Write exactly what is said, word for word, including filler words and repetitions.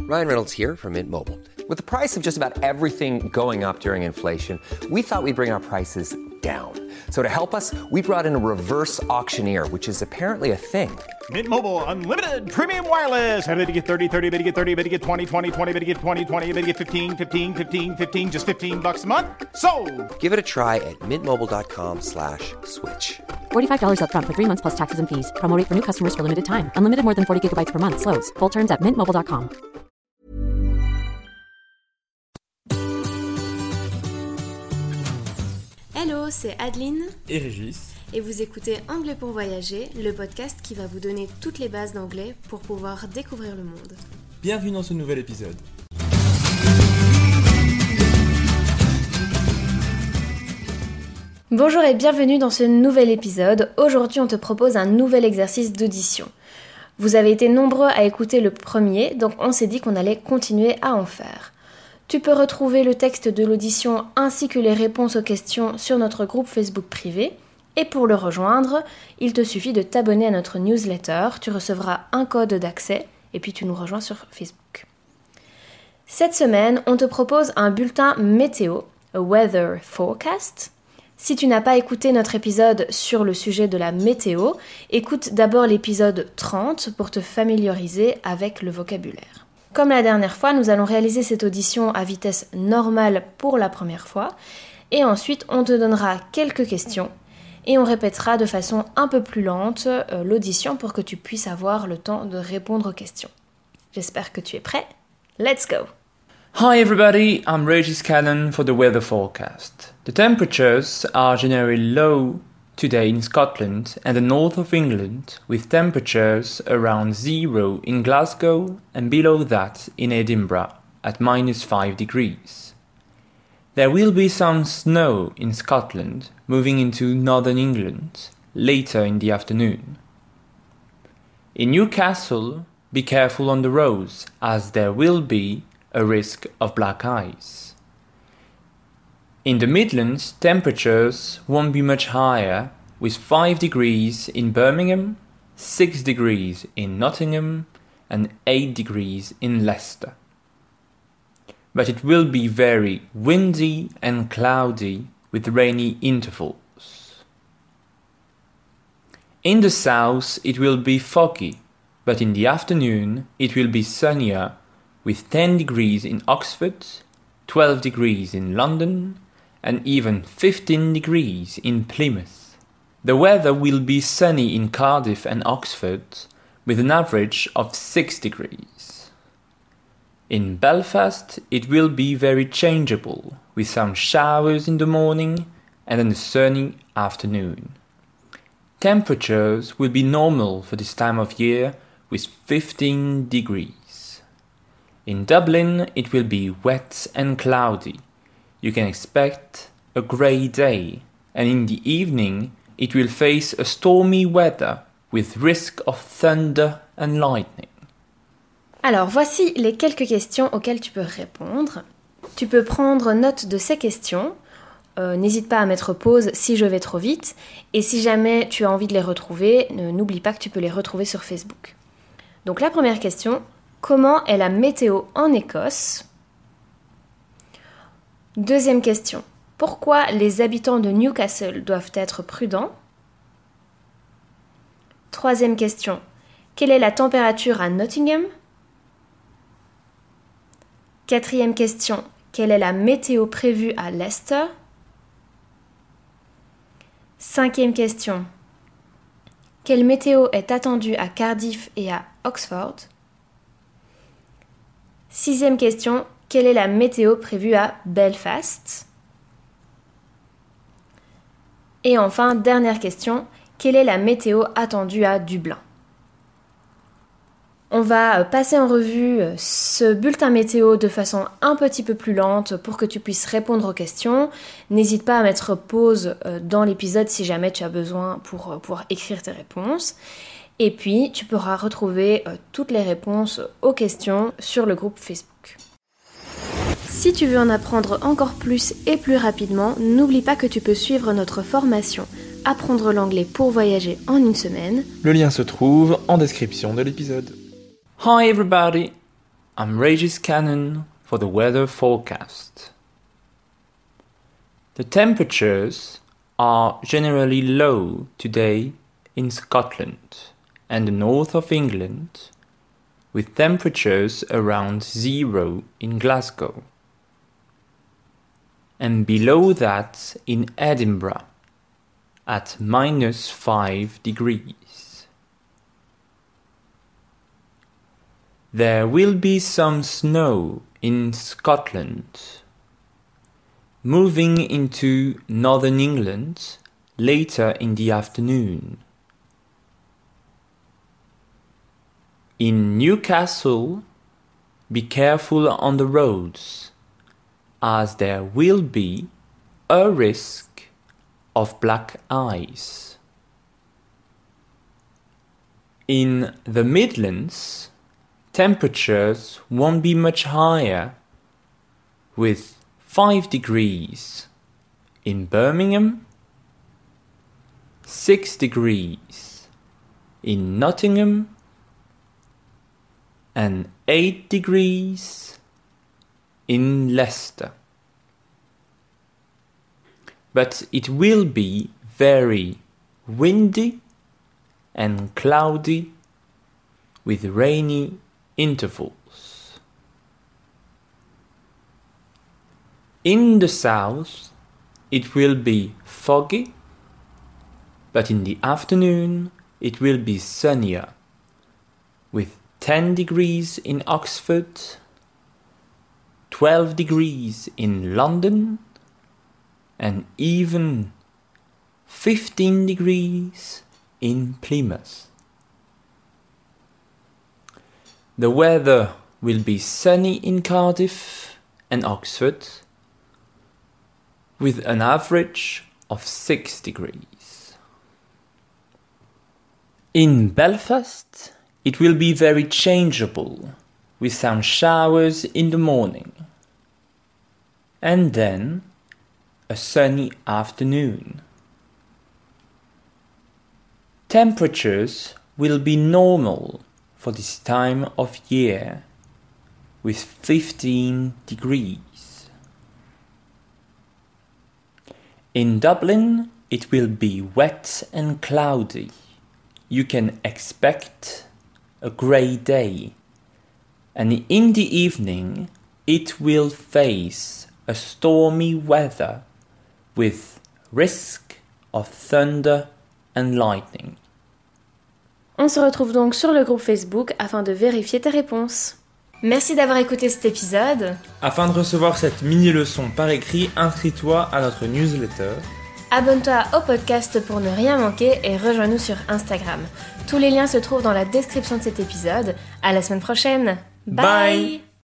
Ryan Reynolds here from Mint Mobile. With the price of just about everything going up during inflation, we thought we'd bring our prices down. So to help us, we brought in a reverse auctioneer, which is apparently a thing. Mint Mobile Unlimited Premium Wireless. How to get thirty, thirty, how to get thirty, how to get twenty, twenty, twenty, how to get twenty, twenty, how to get fifteen, fifteen, fifteen, fifteen, just fifteen bucks a month? Sold! Give it a try at mintmobile.com slash switch. forty-five dollars up front for three months plus taxes and fees. Promo rate for new customers for limited time. Unlimited more than forty gigabytes per month. Slows full terms at mint mobile dot com. Hello, c'est Adeline et Régis. Et vous écoutez Anglais pour voyager, le podcast qui va vous donner toutes les bases d'anglais pour pouvoir découvrir le monde. Bienvenue dans ce nouvel épisode. Bonjour et bienvenue dans ce nouvel épisode. Aujourd'hui, on te propose un nouvel exercice d'audition. Vous avez été nombreux à écouter le premier, donc on s'est dit qu'on allait continuer à en faire. Tu peux retrouver le texte de l'audition ainsi que les réponses aux questions sur notre groupe Facebook privé. Et pour le rejoindre, il te suffit de t'abonner à notre newsletter. Tu recevras un code d'accès et puis tu nous rejoins sur Facebook. Cette semaine, on te propose un bulletin météo, a weather forecast. Si tu n'as pas écouté notre épisode sur le sujet de la météo, écoute d'abord l'épisode trente pour te familiariser avec le vocabulaire. Comme la dernière fois, nous allons réaliser cette audition à vitesse normale pour la première fois et ensuite on te donnera quelques questions et on répétera de façon un peu plus lente euh, l'audition pour que tu puisses avoir le temps de répondre aux questions. J'espère que tu es prêt. Let's go! Hi everybody, I'm Regis Cannon for the weather forecast. The temperatures are generally low today in Scotland and the north of England, with temperatures around zero in Glasgow and below that in Edinburgh at minus five degrees. There will be some snow in Scotland moving into northern England later in the afternoon. In Newcastle, be careful on the roads as there will be a risk of black ice. In the Midlands, temperatures won't be much higher, with five degrees in Birmingham, six degrees in Nottingham, and eight degrees in Leicester. But it will be very windy and cloudy with rainy intervals. In the south, it will be foggy, but in the afternoon, it will be sunnier, with ten degrees in Oxford, twelve degrees in London, and even fifteen degrees in Plymouth. The weather will be sunny in Cardiff and Oxford, with an average of six degrees. In Belfast, it will be very changeable, with some showers in the morning and then a sunny afternoon. Temperatures will be normal for this time of year, with fifteen degrees. In Dublin, it will be wet and cloudy. You can expect a grey day, and in the evening, it will face a stormy weather with risk of thunder and lightning. Alors, voici les quelques questions auxquelles tu peux répondre. Tu peux prendre note de ces questions. Euh, n'hésite pas à mettre pause si je vais trop vite. Et si jamais tu as envie de les retrouver, ne, n'oublie pas que tu peux les retrouver sur Facebook. Donc la première question, comment est la météo en Écosse ? Deuxième question, pourquoi les habitants de Newcastle doivent être prudents ? Troisième question, quelle est la température à Nottingham ? Quatrième question, quelle est la météo prévue à Leicester ? Cinquième question, quelle météo est attendue à Cardiff et à Oxford ? Sixième question, quelle est la météo prévue à Belfast ? Et enfin, dernière question, quelle est la météo attendue à Dublin ? On va passer en revue ce bulletin météo de façon un petit peu plus lente pour que tu puisses répondre aux questions. N'hésite pas à mettre pause dans l'épisode si jamais tu as besoin pour pouvoir écrire tes réponses. Et puis, tu pourras retrouver toutes les réponses aux questions sur le groupe Facebook. Si tu veux en apprendre encore plus et plus rapidement, n'oublie pas que tu peux suivre notre formation « Apprendre l'anglais pour voyager en une semaine ». Le lien se trouve en description de l'épisode. Hi everybody! I'm Regis Cannon for the weather forecast. The temperatures are generally low today in Scotland and the north of England, with temperatures around zero in Glasgow, and below that in Edinburgh at minus five degrees. There will be some snow in Scotland, moving into northern England later in the afternoon. In Newcastle, be careful on the roads, as there will be a risk of black ice. In the Midlands, temperatures won't be much higher, with five degrees in Birmingham, six degrees in Nottingham, and eight degrees in Leicester. But it will be very windy and cloudy with rainy intervals. In the south, it will be foggy, but in the afternoon it will be sunnier, with ten degrees in Oxford, twelve degrees in London, and even fifteen degrees in Plymouth. The weather will be sunny in Cardiff and Oxford, with an average of six degrees. In Belfast, it will be very changeable, with some showers in the morning, and then a sunny afternoon. Temperatures will be normal for this time of year, with fifteen degrees. In Dublin, it will be wet and cloudy. You can expect a grey day, and in the evening it will face a stormy weather with risk of thunder and lightning. On se retrouve donc sur le groupe Facebook afin de vérifier tes réponses. Merci d'avoir écouté cet épisode. Afin de recevoir cette mini-leçon par écrit, inscris-toi à notre newsletter. Abonne-toi au podcast pour ne rien manquer et rejoins-nous sur Instagram. Tous les liens se trouvent dans la description de cet épisode. À la semaine prochaine. Bye. Bye.